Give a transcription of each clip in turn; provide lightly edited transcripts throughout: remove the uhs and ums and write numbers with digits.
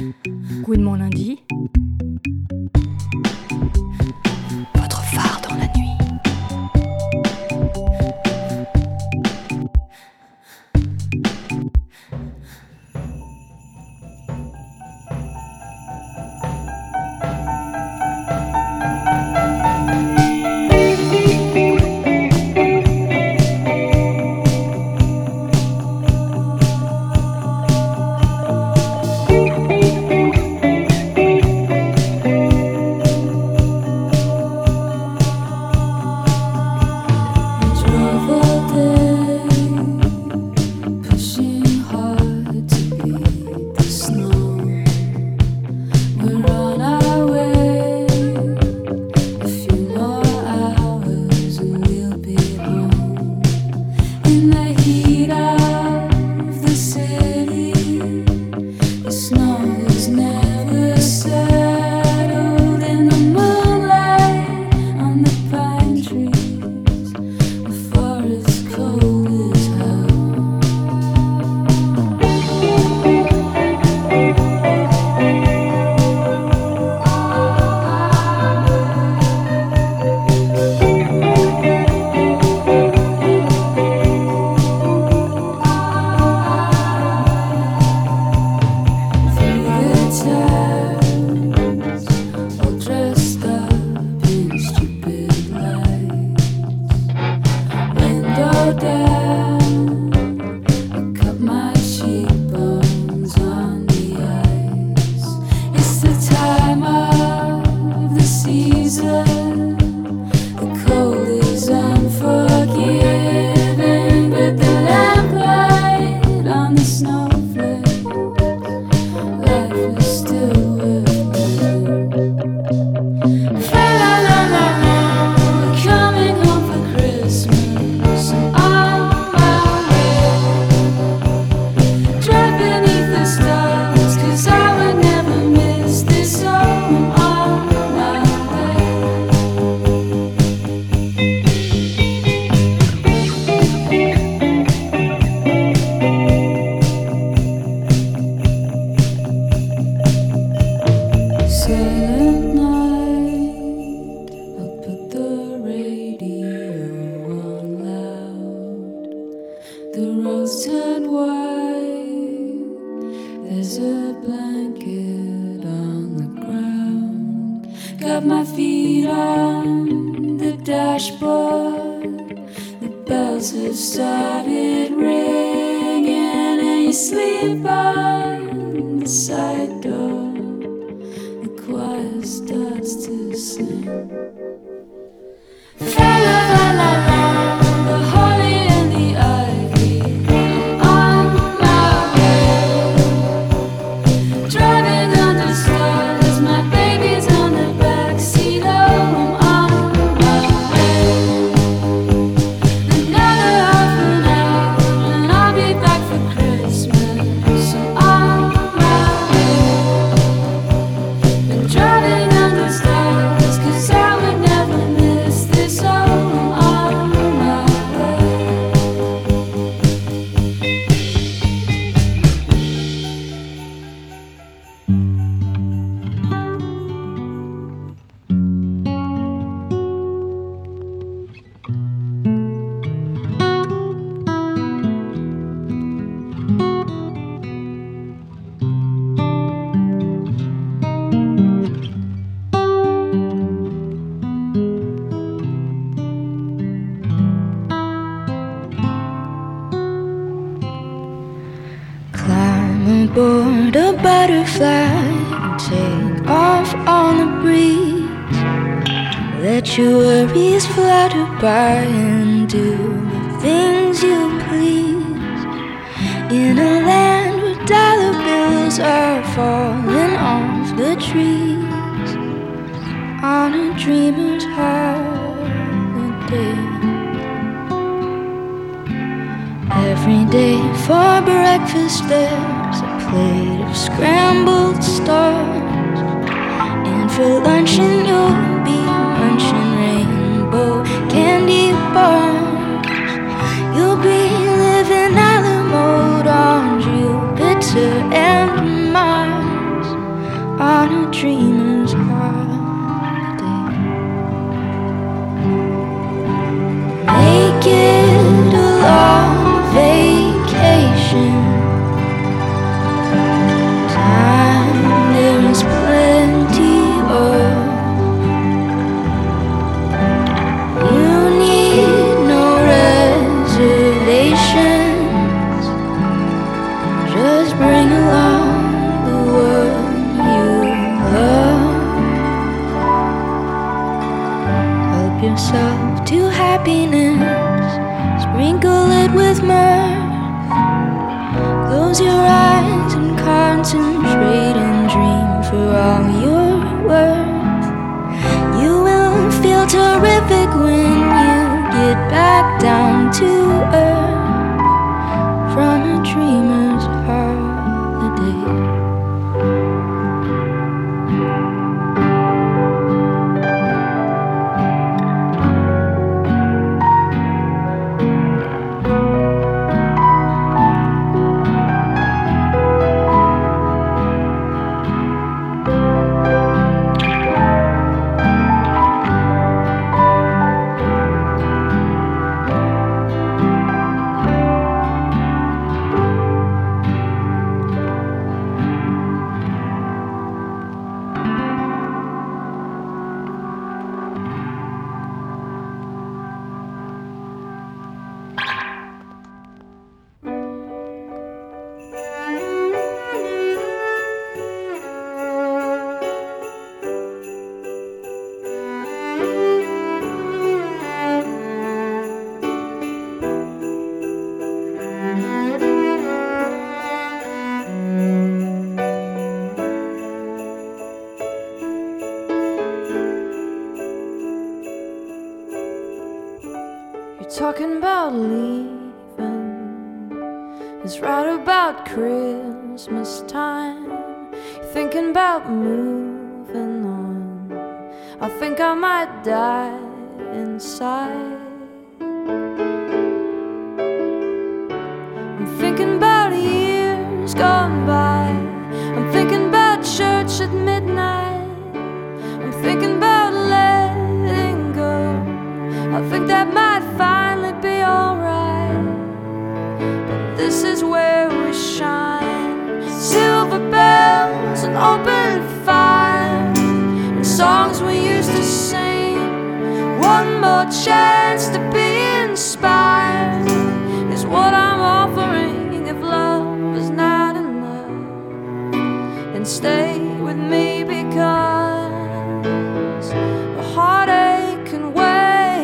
Good mon lundi. Votre phare dans la nuit. Board a butterfly and take off on the breeze. Let your worries flutter by and do the things you please. In a land where dollar bills are falling off the trees, on a dreamer's holiday. Every day for breakfast there's a plate of scrambled stars, and for luncheon you'll be munching rainbow candy bars. You'll be living out the mode on Jupiter and Mars. It's right about Christmas time, thinking about moving on. I think I might die inside. I'm thinking about years gone by. I'm thinking about church at midnight. I'm thinking about letting go. I think that might finally be alright. But this is where we shine. Silver bells and open fire, and songs we used to sing. One more chance to be inspired is what I'm offering if love is not enough. And stay with me because the heartache can wait.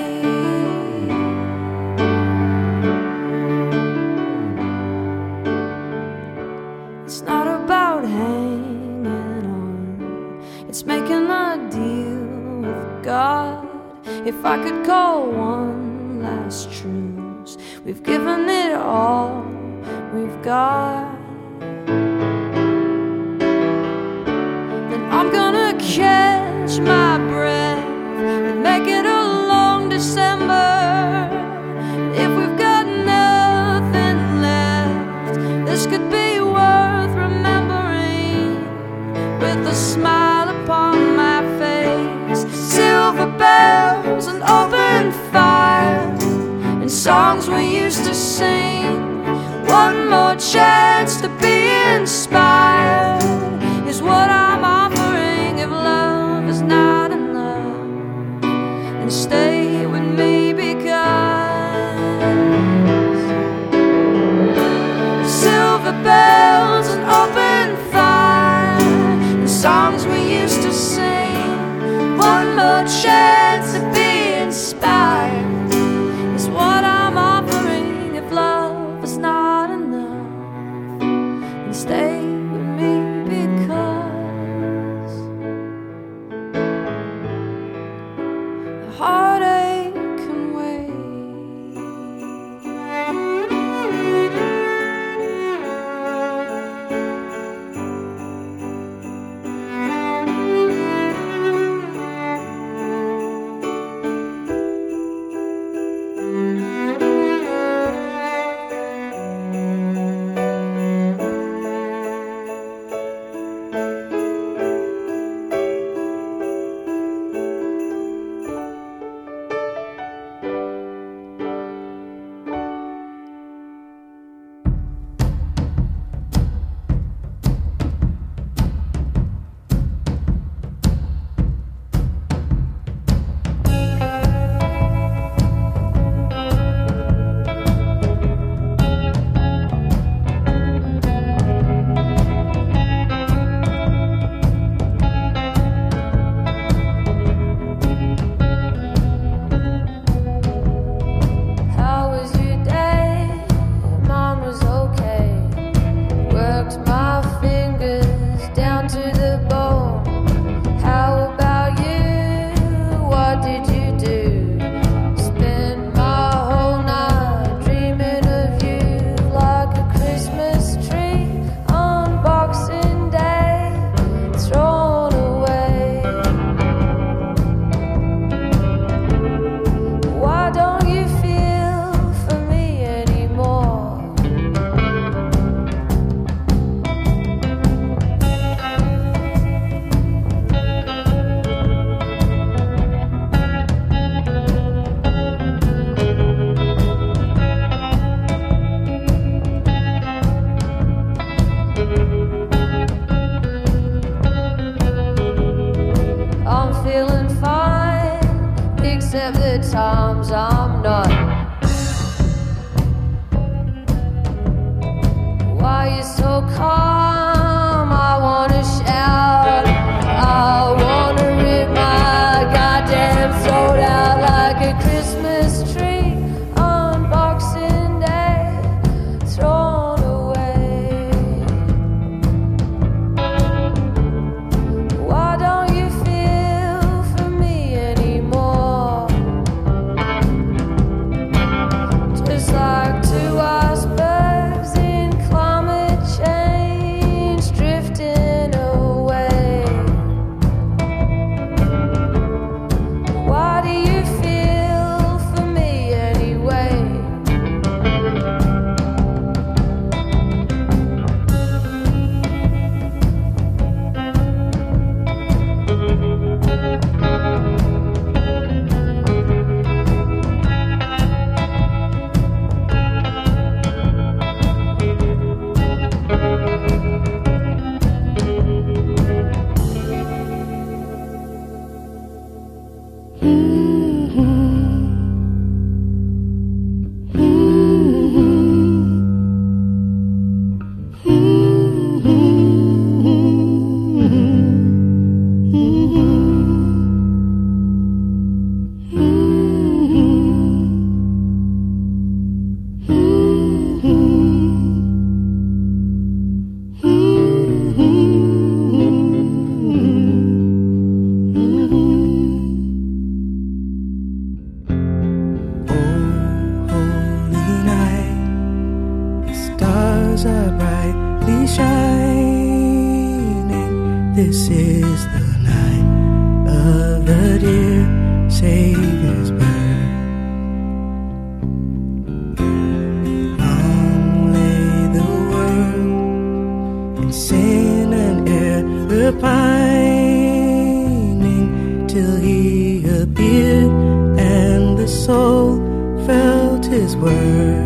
It's not about hanging on, it's making a deal with God. If I could call one last truce, we've given it all we've got. Then I'm gonna catch my breath and make it a long December. If we've got nothing left, this could be worth remembering with a smile upon my face. Silver bells and open fire, and songs we used to sing. One more chance to be inspired is what I'm offering if love is not enough. stars are brightly shining. This is the night of the dear Savior's birth. Long lay the world in sin and error pining, till he appeared and the soul felt his worth.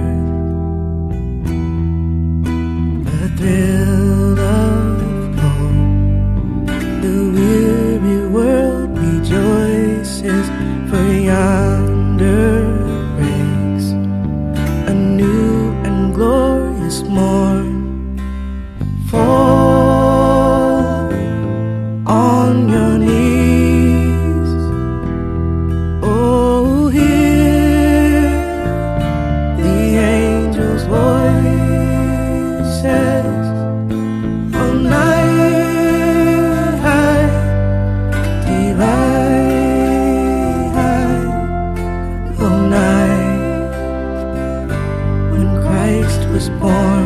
A thrill of hope, the weary world rejoices, for yonder breaks a new and glorious morn. Fall on your knees, oh, hear the angels' voices. Oh, night high, divine, oh, night when Christ was born.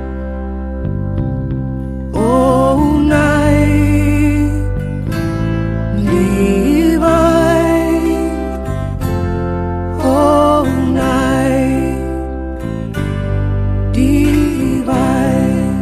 Oh, night divine, oh, night divine.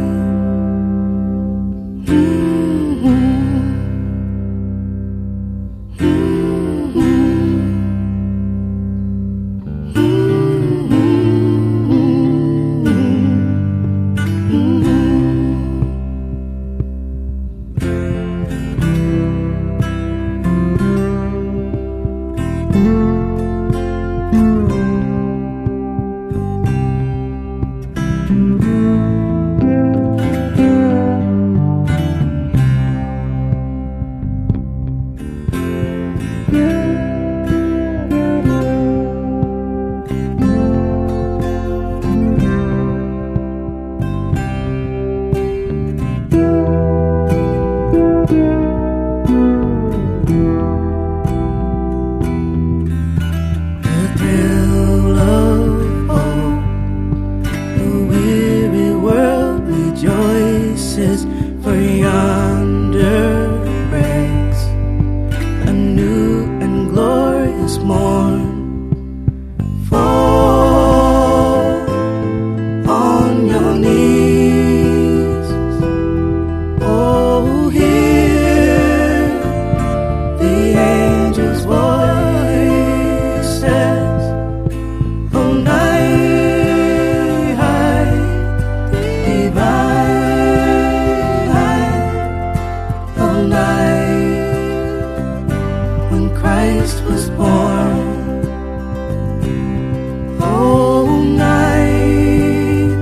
The thrill of hope, the weary world rejoices, for yonder breaks a new and glorious morn. Fall on your knees, oh, hear the angels' voices. Oh, night high, divine, oh, night when Christ was born. Oh, night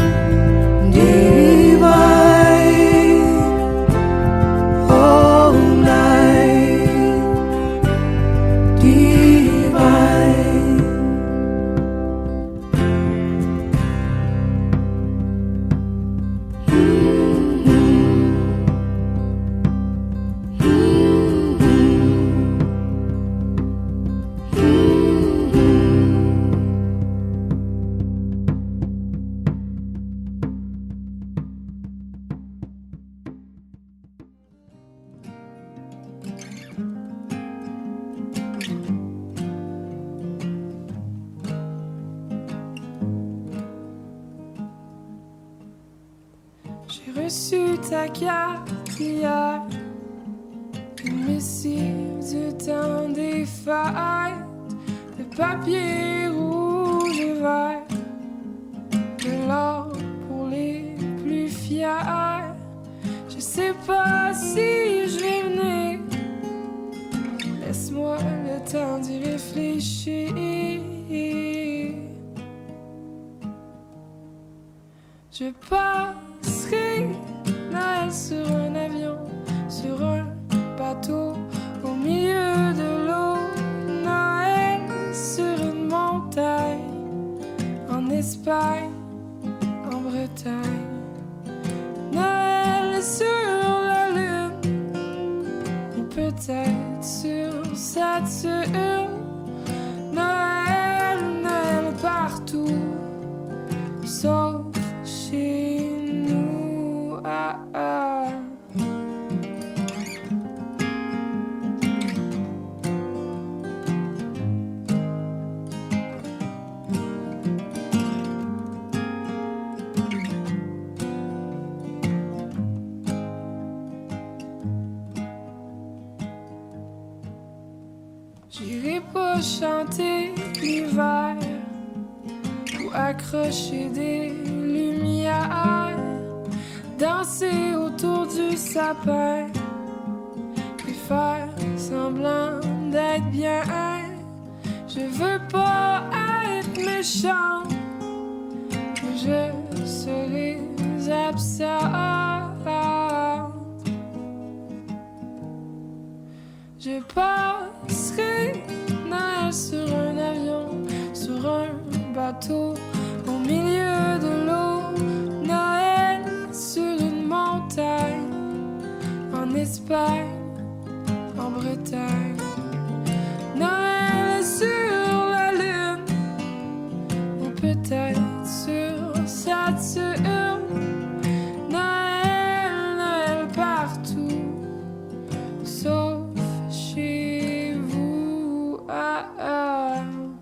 divine, oh, night divine. J'ai reçu ta carte hier, une missive du temps des fêtes, de papier rouge et vert, de l'or pour les plus fiers. Je sais pas si je vais venir, laisse-moi le temps d'y réfléchir. Je passerai Noël sur un avion, sur un bateau, au milieu de l'eau. Noël sur une montagne, en Espagne, en Bretagne. Noël sur la lune, ou peut-être sur Saturne. Noël, Noël partout, sauf chez J'irai pas chanter l'hiver ou accrocher des lumières, danser autour du sapin et faire semblant d'être bien. Je veux pas être méchant, je serai absente. Je passerai Noël sur un avion, sur un bateau, au milieu de l'eau. Noël sur une montagne, en Espagne, en Bretagne. Noël sur la lune, ou peut-être sur Saturne. Noël, Noël partout, sauf chez vous. Ah, ah.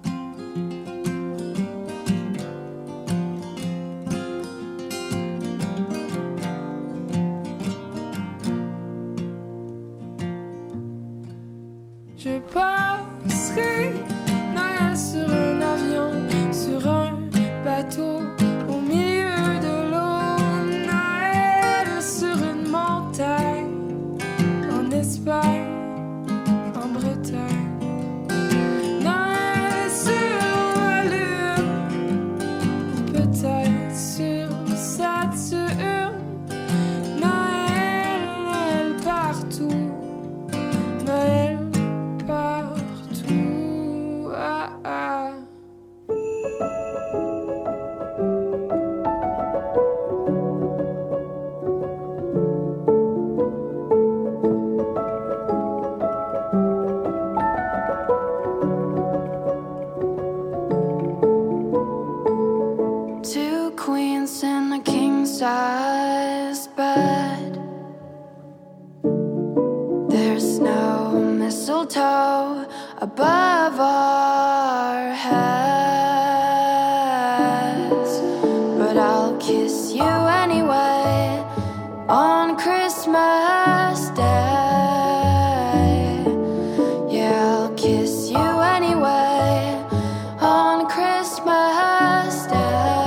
Je passerai Noël sur un avion, sur un bateau, au milieu de l'eau. Noël sur une montagne, en Espagne, en Bretagne. Noël sur la lune, ou peut-être sur Saturne. Noël, Noël partout, Noël partout. Ah, ah. Two queens in a king-size bed. There's no mistletoe above our heads, but I'll kiss you anyway on Christmas Day. Yeah, I'll kiss you anyway on Christmas Day.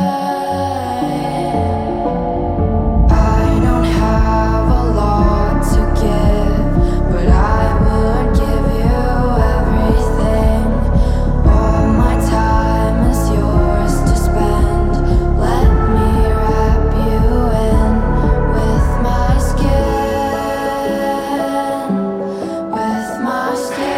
I don't have a lot to give, but I would give you everything. All my time is yours to spend. Let me wrap you in with my skin, with my skin.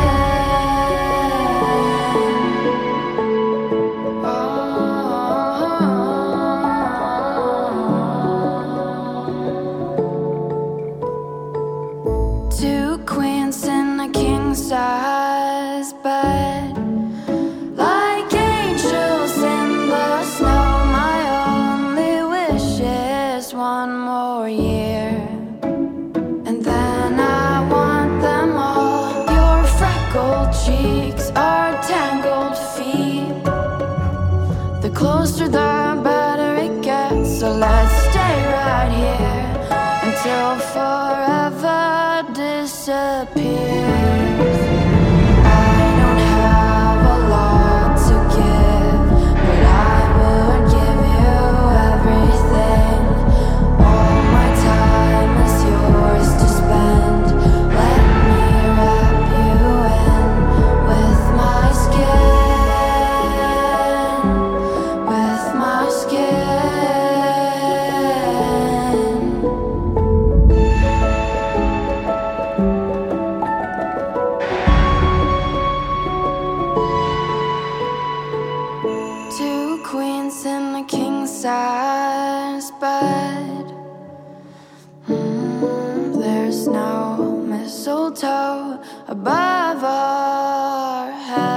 Two queens in a king-size bed, like angels in the snow. My only wish is one more year, and then I want them all. Your freckled cheeks, our tangled feet. The closer the better it gets, so let's stay right here until forever disappears. I don't have a lot to give, but I would give you everything. All my time is yours to spend. Let me wrap you in with my skin, with my skin. Two queens in a king-size bed. There's no mistletoe above our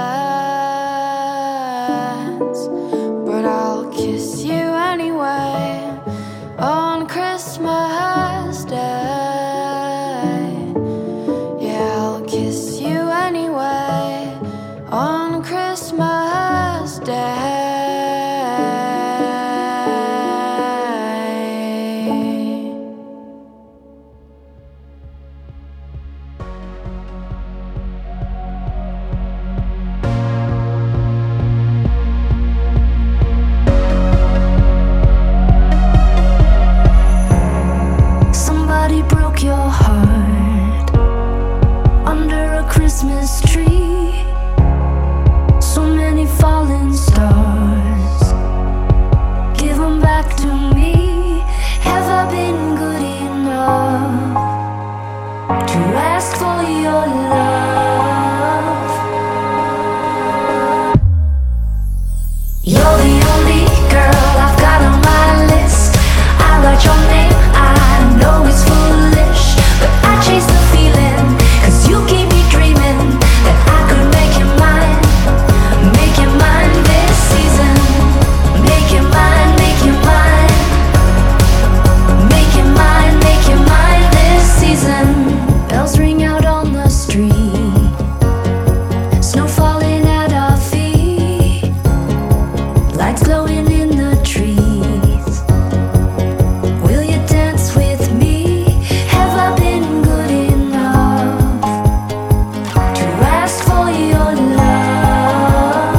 heads, but I'll kiss you anyway on Christmas Day. Yeah, I'll kiss you anyway on Christmas Day. back to me. Have I been good enough to ask for your love? You're the only girl I've got on my list. I write your name, I know it's foolish, but I chase the feeling, 'cause you keep me dreaming that I could make you mine. Make you mine this season. Make you mine, make you mine. Make you mine, make you mine this season. Bells ring out on the street, snow falling at our feet, lights glowing in the trees. Will you dance with me? Have I been good enough to ask for your love?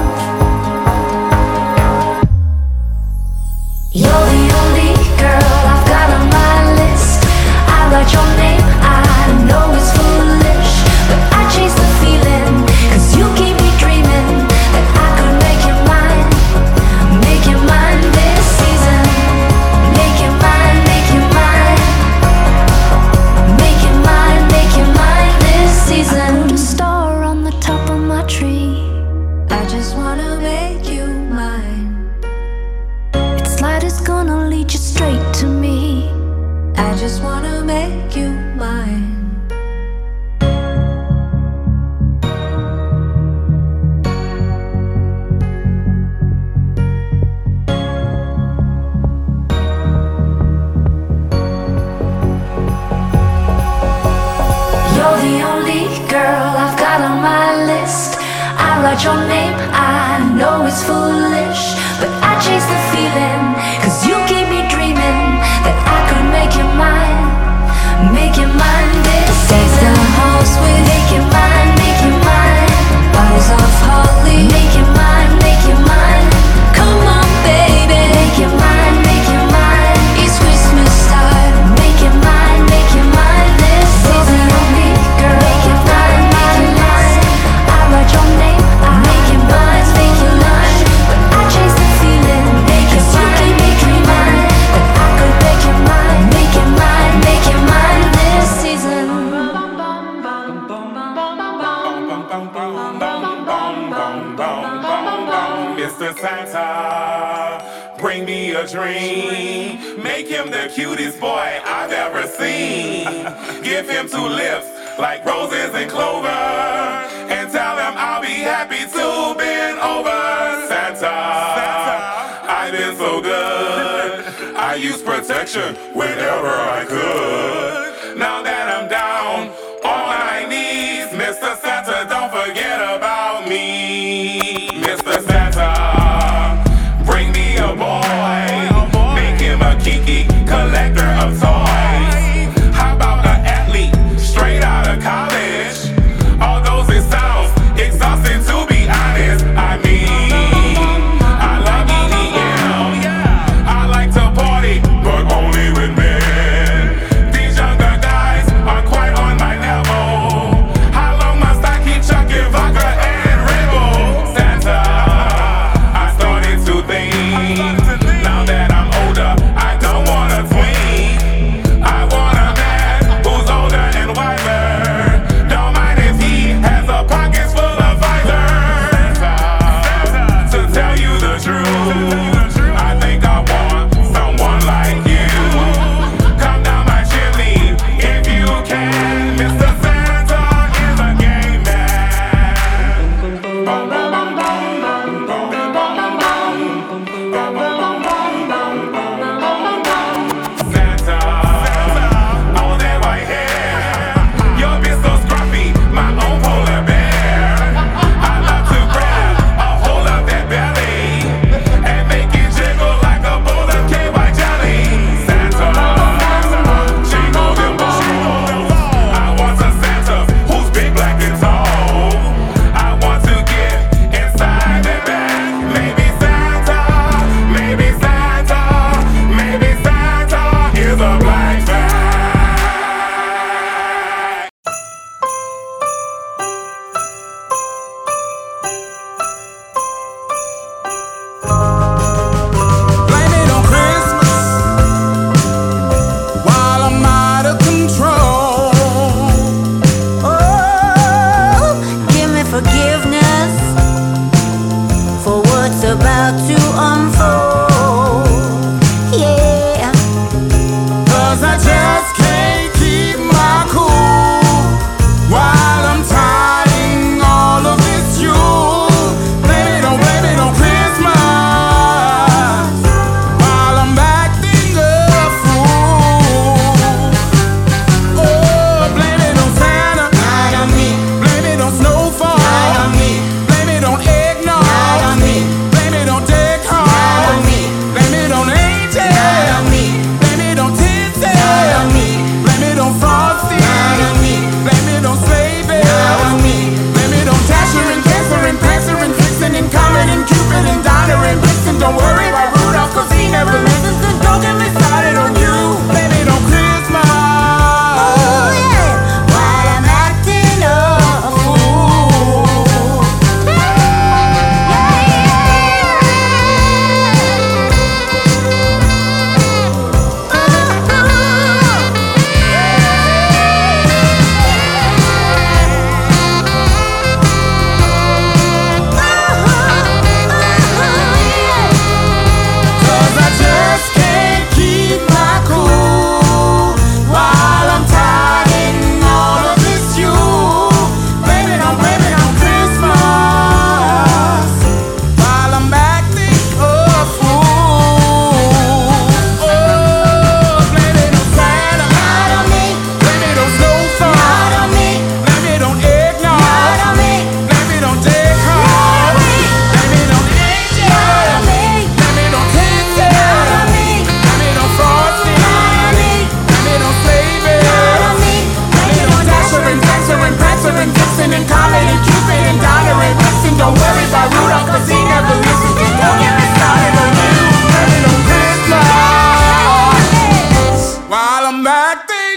You're the only girl I've got on my list. I write your name, I know it's foolish, but I chase the feeling, 'cause you keep me dreaming that I could make you mine. Make you mine this season. Make you mine, make you mine. Make you mine, make you mine this season. I put a star on the top of my tree. I just wanna make you mine. Its light is gonna lead you straight to me. I just wanna make you mine. You're the only girl I've got on my list. I write your name, I know it's foolish, but I chase the feeling, 'cause you keep me dreaming that I could make you mine. Make you mine this season. The house with make you mine, make you mine. Bottles of holly, make you mine, make you mine. Come on, baby, make you mine, make you mine. It's Christmas time, make you mine, make you mine this season. Only girl, make you mine, make you mine. I write your name, I make you mine, make you mine. But I chase the feeling, 'cause you keep me dreaming that I could make you mine, make you mine, make you mine this season. Mr. Santa, bring me a dream. Make him the cutest boy I've ever seen. Give him 2 lips like roses and clover, and tell him I'll be happy to bend over. Santa, I've been so good. I use protection whenever I could. Now that I'm down on my knees, Mr. Santa, don't forget about me. Mr. Santa, bring me a boy. Make him a Kiki, collector of toys. How about an athlete straight out of college? Although it sounds exhausting, to be honest, I mean, I love EDM. I like to party, but only with men. These younger guys are quite on my level. How long must I keep chucking vodka and Red Bull? Santa, I started to think, now that I'm older, I don't wanna tween.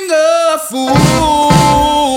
a fool.